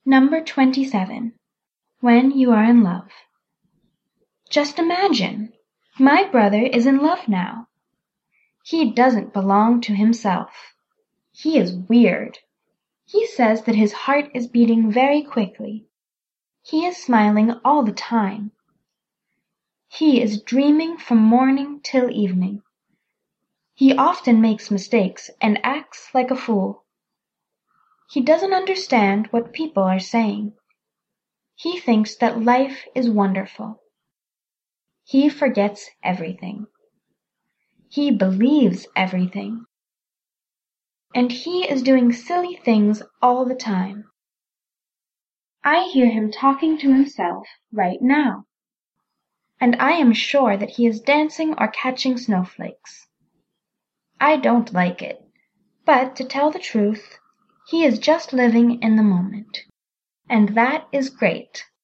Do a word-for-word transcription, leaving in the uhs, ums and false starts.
Number twenty-seven. When you are in love. Just imagine! My brother is in love now. He doesn't belong to himself. He is weird. He says that his heart is beating very quickly. He is smiling all the time. He is dreaming from morning till evening. He often makes mistakes and acts like a fool. He doesn't understand what people are saying. He thinks that life is wonderful. He forgets everything. He believes everything. And he is doing silly things all the time. I hear him talking to himself right now. And I am sure that he is dancing or catching snowflakes. I don't like it, but to tell the truth, he is just living in the moment. And that is great.